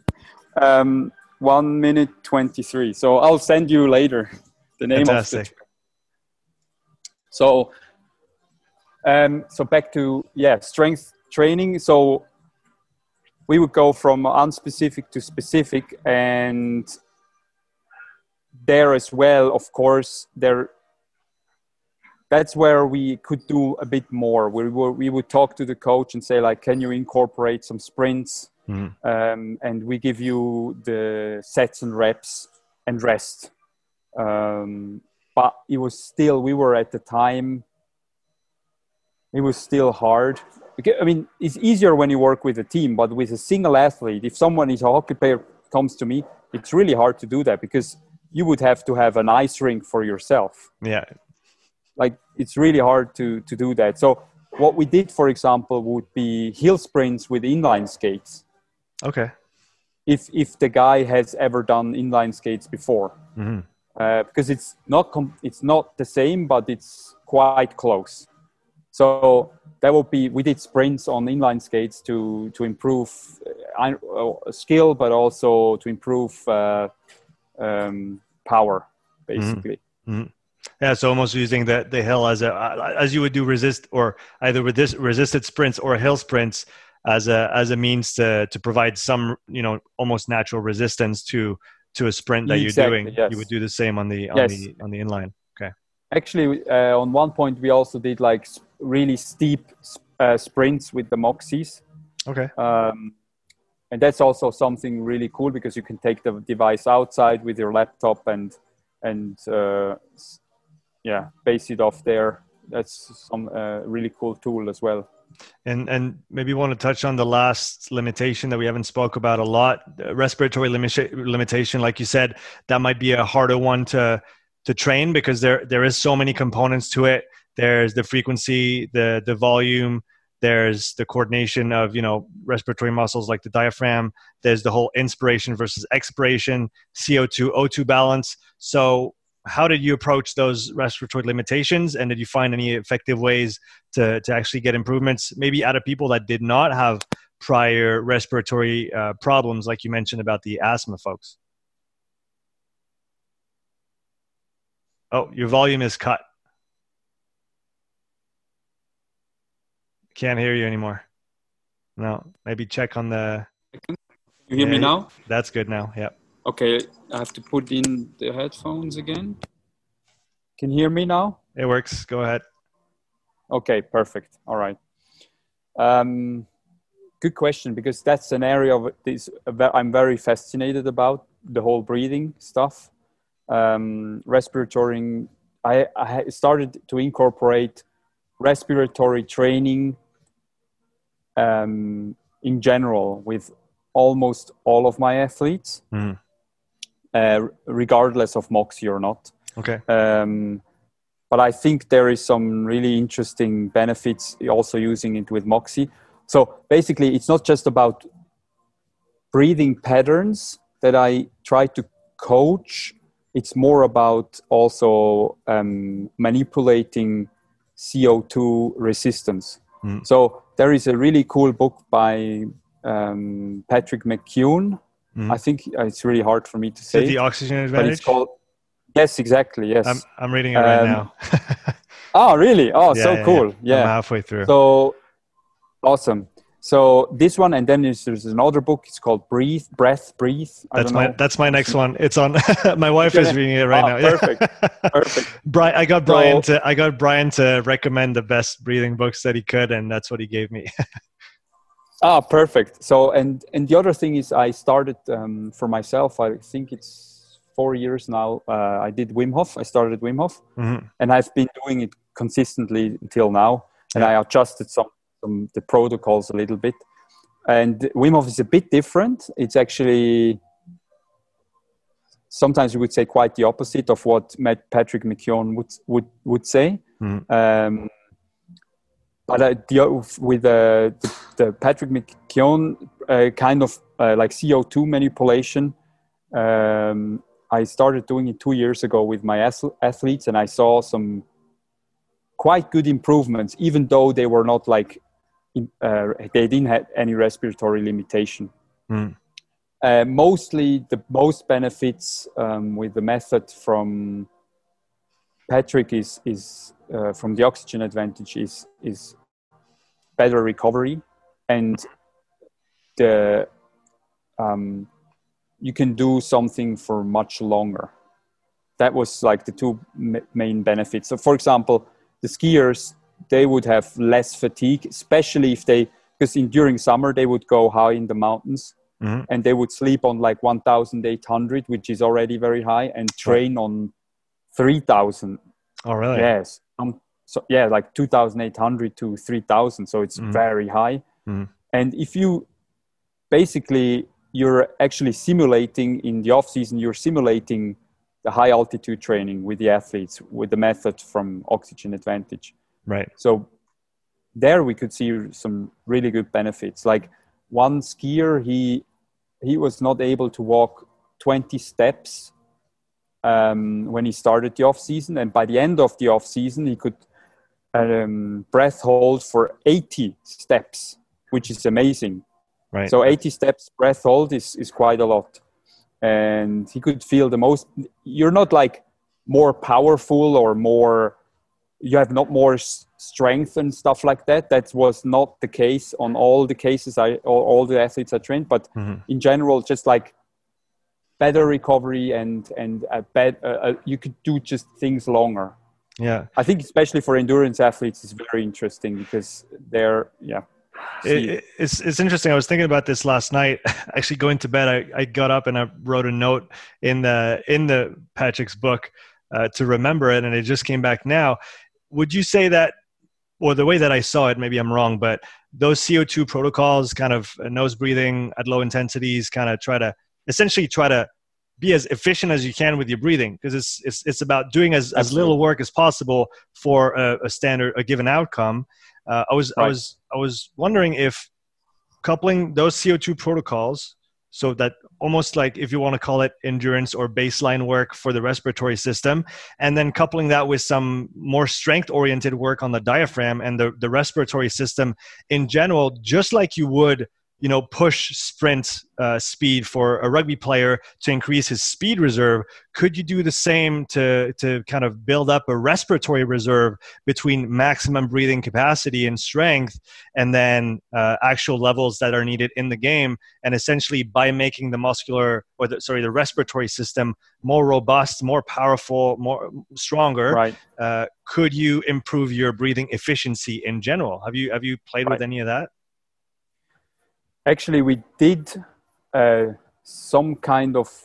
[SPEAKER 1] 1 minute 23. So I'll send you later the name of the track. So back to strength training. So we would go from unspecific to specific, and there as well, of course, that's where we could do a bit more. We would talk to the coach and say, like, can you incorporate some sprints? And we give you the sets and reps and rest. But it was still, we were at the time, it was still hard. I mean, it's easier when you work with a team, but with a single athlete, if someone is a hockey player comes to me, it's really hard to do that because you would have to have an ice rink for yourself.
[SPEAKER 2] Yeah.
[SPEAKER 1] Like, it's really hard to do that. So what we did, for example, would be hill sprints with inline skates.
[SPEAKER 2] Okay.
[SPEAKER 1] If the guy has ever done inline skates before. Because it's not the same, but it's quite close. So that would be, we did sprints on inline skates to improve skill, but also to improve power, basically.
[SPEAKER 2] Yeah, so almost using the hill as you would do either resisted sprints or hill sprints as a means to provide some, almost natural resistance to a sprint that you're doing. Yes. You would do the same on the inline. Okay.
[SPEAKER 1] Actually, on one point we also did like really steep sprints with the Moxies.
[SPEAKER 2] Okay.
[SPEAKER 1] And that's also something really cool because you can take the device outside with your laptop and base it off there. That's some really cool tool as well.
[SPEAKER 2] And maybe you want to touch on the last limitation that we haven't spoke about a lot, respiratory limitation. Like you said, that might be a harder one to train because there is so many components to it. There's the frequency, the volume, there's the coordination of, respiratory muscles like the diaphragm. There's the whole inspiration versus expiration, CO2, O2 balance. So how did you approach those respiratory limitations? And did you find any effective ways to actually get improvements, maybe out of people that did not have prior respiratory problems, like you mentioned about the asthma folks? Oh, your volume is cut. Can't hear you anymore. No, maybe check on the...
[SPEAKER 1] You hear me now?
[SPEAKER 2] That's good now, yeah.
[SPEAKER 1] Okay, I have to put in the headphones again. Can you hear me now?
[SPEAKER 2] It works. Go ahead.
[SPEAKER 1] Okay, perfect. All right. Good question, because that's an area of this I'm very fascinated about, the whole breathing stuff. Respiratory. I started to incorporate respiratory training in general with almost all of my athletes. Regardless of Moxy or not.
[SPEAKER 2] Okay.
[SPEAKER 1] But I think there is some really interesting benefits also using it with Moxy. So basically, it's not just about breathing patterns that I try to coach. It's more about also manipulating CO2 resistance. So there is a really cool book by Patrick McKeown. I think it's really hard for me to say.
[SPEAKER 2] The Oxygen Advantage?
[SPEAKER 1] But it's called, yes, exactly, yes.
[SPEAKER 2] I'm reading it right now.
[SPEAKER 1] Oh, really? Oh, yeah, so cool. Yeah.
[SPEAKER 2] I'm halfway through.
[SPEAKER 1] So, awesome. So this one, and then there's another book. It's called Breathe.
[SPEAKER 2] That's my next one. It's on. My wife is reading it right now.
[SPEAKER 1] Perfect.
[SPEAKER 2] Brian, I got Brian to recommend the best breathing books that he could, and that's what he gave me.
[SPEAKER 1] Perfect. So, and the other thing is, I started for myself. I think it's 4 years now. I did Wim Hof. I started Wim Hof, and I've been doing it consistently until now. And I adjusted the protocols a little bit. And Wim Hof is a bit different. It's actually, sometimes you would say, quite the opposite of what Patrick McKeown would say. But with the Patrick McKeown kind of like CO2 manipulation, I started doing it 2 years ago with my athletes, and I saw some quite good improvements, even though they were not like, they didn't have any respiratory limitation. Mostly the most benefits with the method from Patrick is from the Oxygen Advantage is better recovery. and the you can do something for much longer. That was like the two main benefits. So for example, the skiers, they would have less fatigue, especially if because during summer they would go high in the mountains, and they would sleep on like 1,800, which is already very high, and train on 3,000.
[SPEAKER 2] Oh, really?
[SPEAKER 1] Yes. So yeah, like 2,800 to 3,000. So it's very high. And if you basically, you're actually simulating in the off season, you're simulating the high altitude training with the athletes with the method from Oxygen Advantage.
[SPEAKER 2] Right.
[SPEAKER 1] So there we could see some really good benefits. Like one skier, he was not able to walk 20 steps when he started the off season, and by the end of the off season, he could breath hold for 80 steps, which is amazing.
[SPEAKER 2] Right.
[SPEAKER 1] So 80 steps breath hold is quite a lot. And he could feel you're not like more powerful or more, you have not more strength and stuff like that. That was not the case on all the cases, all the athletes I trained, but in general, just like better recovery and you could do just things longer.
[SPEAKER 2] Yeah.
[SPEAKER 1] I think especially for endurance athletes, it's very interesting because they're,
[SPEAKER 2] It's interesting. I was thinking about this last night. Actually, going to bed, I got up and I wrote a note in the Patrick's book to remember it, and it just came back now. Would you say that, or the way that I saw it, maybe I'm wrong, but those CO2 protocols, kind of nose breathing at low intensities, kind of try to be as efficient as you can with your breathing, because it's about doing as little work as possible for a given outcome. I was wondering if coupling those CO2 protocols, so that almost like, if you want to call it endurance or baseline work for the respiratory system, and then coupling that with some more strength-oriented work on the diaphragm and the respiratory system in general, just like you would, push sprint speed for a rugby player to increase his speed reserve, could you do the same to kind of build up a respiratory reserve between maximum breathing capacity and strength and then actual levels that are needed in the game? And essentially, by making the the respiratory system more robust, more powerful, more stronger,
[SPEAKER 1] right.
[SPEAKER 2] Could you improve your breathing efficiency in general? Have you played with any of that?
[SPEAKER 1] Actually, we did some kind of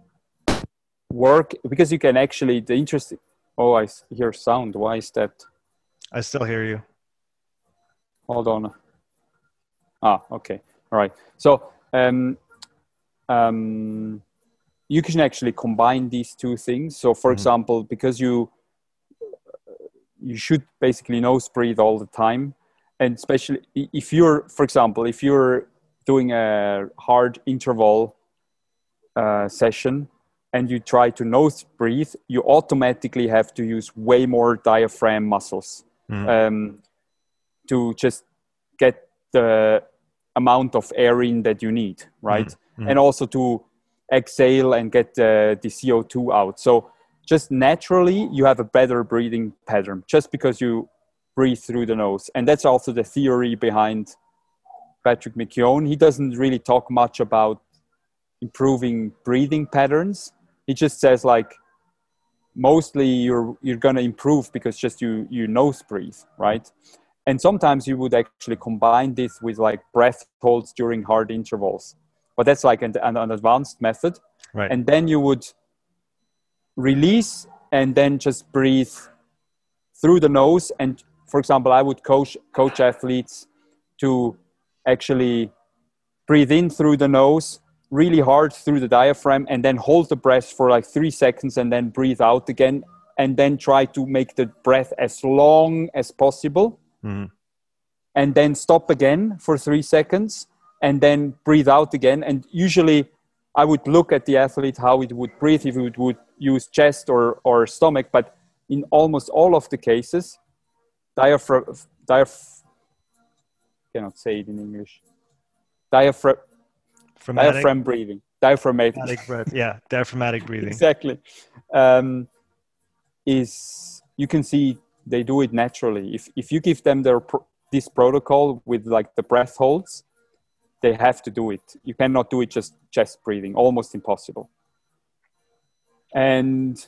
[SPEAKER 1] work, because you can actually, I hear sound. Why is that?
[SPEAKER 2] I still hear you.
[SPEAKER 1] Hold on. Okay. All right. So you can actually combine these two things. So for example, because you should basically nose breathe all the time. And especially if you're doing a hard interval session and you try to nose breathe, you automatically have to use way more diaphragm muscles to just get the amount of air in that you need, right? And also to exhale and get the CO2 out. So just naturally, you have a better breathing pattern just because you breathe through the nose. And that's also the theory behind Patrick McKeown. He doesn't really talk much about improving breathing patterns. He just says like, mostly you're going to improve because just you nose breathe, right? And sometimes you would actually combine this with like breath holds during hard intervals. But that's like an advanced method.
[SPEAKER 2] Right.
[SPEAKER 1] And then you would release and then just breathe through the nose. And for example, I would coach athletes to actually breathe in through the nose, really hard through the diaphragm, and then hold the breath for like 3 seconds and then breathe out again. And then try to make the breath as long as possible. And then stop again for 3 seconds and then breathe out again. And usually I would look at the athlete, how it would breathe, if it would use chest or stomach. But in almost all of the cases, diaphragm cannot say it in English. Diaphragm breathing. Diaphragmatic
[SPEAKER 2] breath. Yeah, diaphragmatic breathing.
[SPEAKER 1] Exactly. You can see they do it naturally. If you give them this protocol with like the breath holds, they have to do it. You cannot do it just chest breathing, almost impossible. And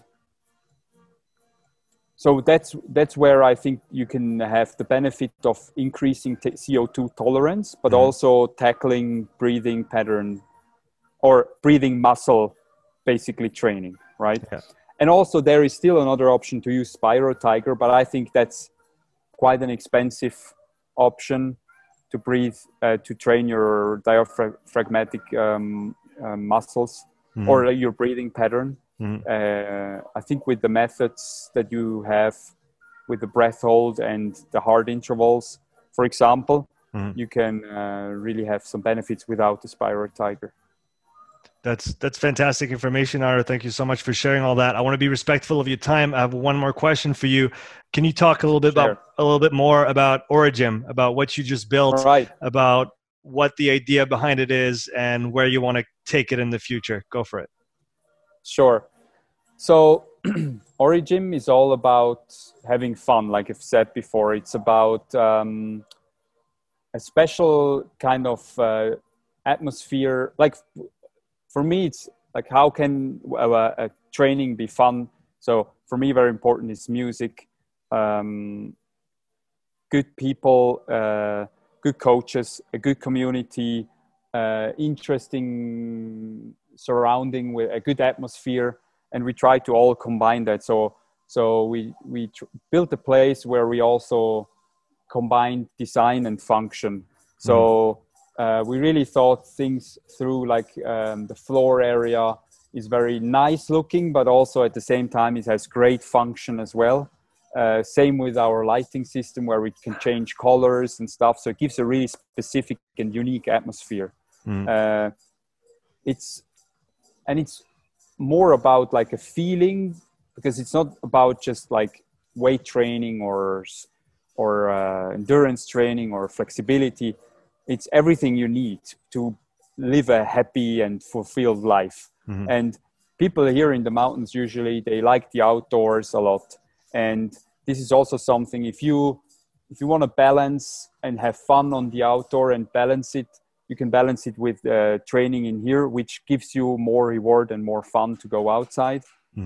[SPEAKER 1] so that's where I think you can have the benefit of increasing CO2 tolerance, but also tackling breathing pattern or breathing muscle, basically training, right? Yeah. And also there is still another option to use SpiroTiger, but I think that's quite an expensive option to breathe, to train your diaphragmatic muscles or your breathing pattern. I think with the methods that you have with the breath hold and the hard intervals, for example, you can really have some benefits without the SpiroTiger.
[SPEAKER 2] That's fantastic information, Ara. Thank you so much for sharing all that. I want to be respectful of your time. I have one more question for you. Can you talk a little bit more about Origym, about what you just built, about what the idea behind it is, and where you want to take it in the future? Go for it.
[SPEAKER 1] Sure. So Origym is all about having fun, like I've said before. It's about a special kind of atmosphere. Like for me, it's like, how can a training be fun? So for me, very important is music, good people, good coaches, a good community, interesting surrounding with a good atmosphere. And we try to all combine that. So we built a place where we also combine design and function. So we really thought things through, like the floor area is very nice looking, but also at the same time it has great function as well. Same with our lighting system, where we can change colors and stuff. So it gives a really specific and unique atmosphere. It's more about like a feeling, because it's not about just like weight training or endurance training or flexibility. It's everything you need to live a happy and fulfilled life. And people here in the mountains, usually they like the outdoors a lot. And this is also something, if you want to balance and have fun on the outdoor and balance it, you can balance it with training in here, which gives you more reward and more fun to go outside.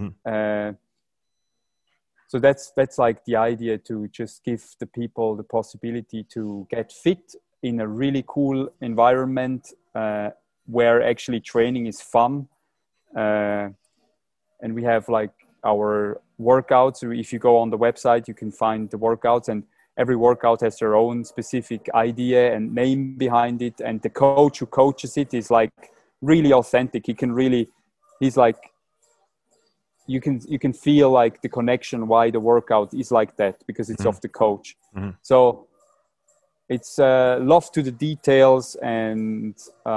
[SPEAKER 1] So that's like the idea, to just give the people the possibility to get fit in a really cool environment where actually training is fun. And we have like our workouts. If you go on the website, you can find the workouts, and every workout has their own specific idea and name behind it. And the coach who coaches it is like really authentic. He's like, you can feel like the connection why the workout is like that, because it's of the coach. So it's love to the details, and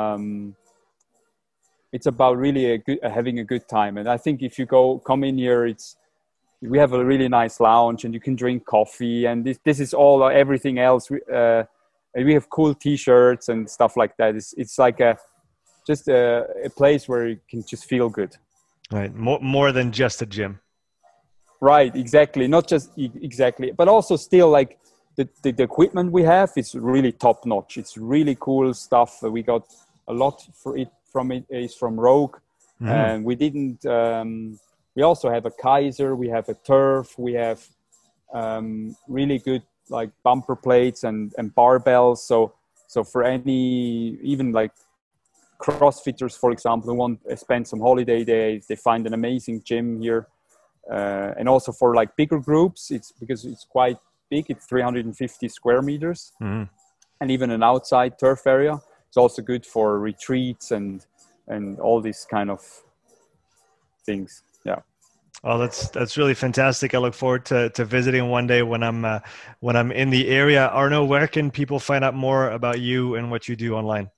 [SPEAKER 1] it's about really having a good time. And I think if you come in here, we have a really nice lounge, and you can drink coffee, and this is all everything else. And we have cool T-shirts and stuff like that. It's like just a place where you can just feel good.
[SPEAKER 2] Right, more than just a gym.
[SPEAKER 1] Right, exactly. Not just exactly, but also still like the equipment we have is really top notch. It's really cool stuff. We got a lot from Rogue, and we didn't. We also have a Kaiser. We have a Turf. We have really good like bumper plates and barbells. So for any, even like CrossFitters, for example, who want to spend some holiday days, they find an amazing gym here. And also for like bigger groups, because it's quite big. It's 350 square meters, and even an outside turf area. It's also good for retreats and all these kind of things. Yeah.
[SPEAKER 2] Oh, that's really fantastic. I look forward to visiting one day when I'm in the area. Arno, where can people find out more about you and what you do online?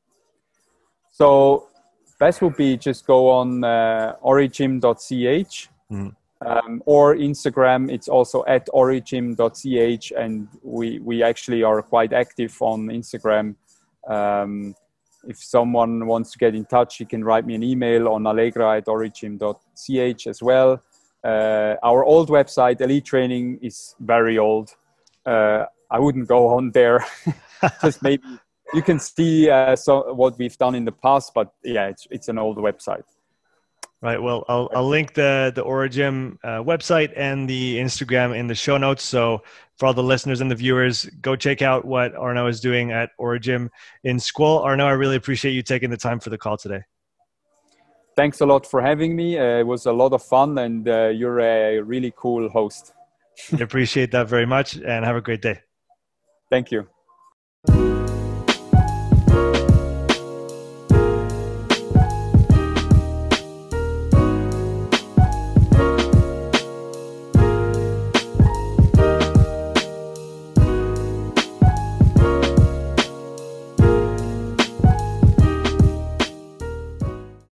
[SPEAKER 1] So best would be just go on origym.ch or Instagram. It's also at origym.ch, and we actually are quite active on Instagram. If someone wants to get in touch, you can write me an email on allegra@origym.ch as well. Our old website, Elite Training, is very old. I wouldn't go on there. Just maybe you can see what we've done in the past, but yeah, it's an old website.
[SPEAKER 2] Right. Well, I'll link the Origym website and the Instagram in the show notes. So for all the listeners and the viewers, go check out what Arnaud is doing at Origym in Scuol. Arnaud, I really appreciate you taking the time for the call today.
[SPEAKER 1] Thanks a lot for having me. It was a lot of fun, and you're a really cool host.
[SPEAKER 2] I appreciate that very much, and have a great day.
[SPEAKER 1] Thank you.